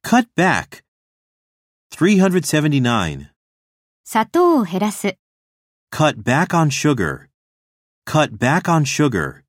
Cut back. 379. 砂糖を減らす。 Cut back on sugar. Cut back on sugar.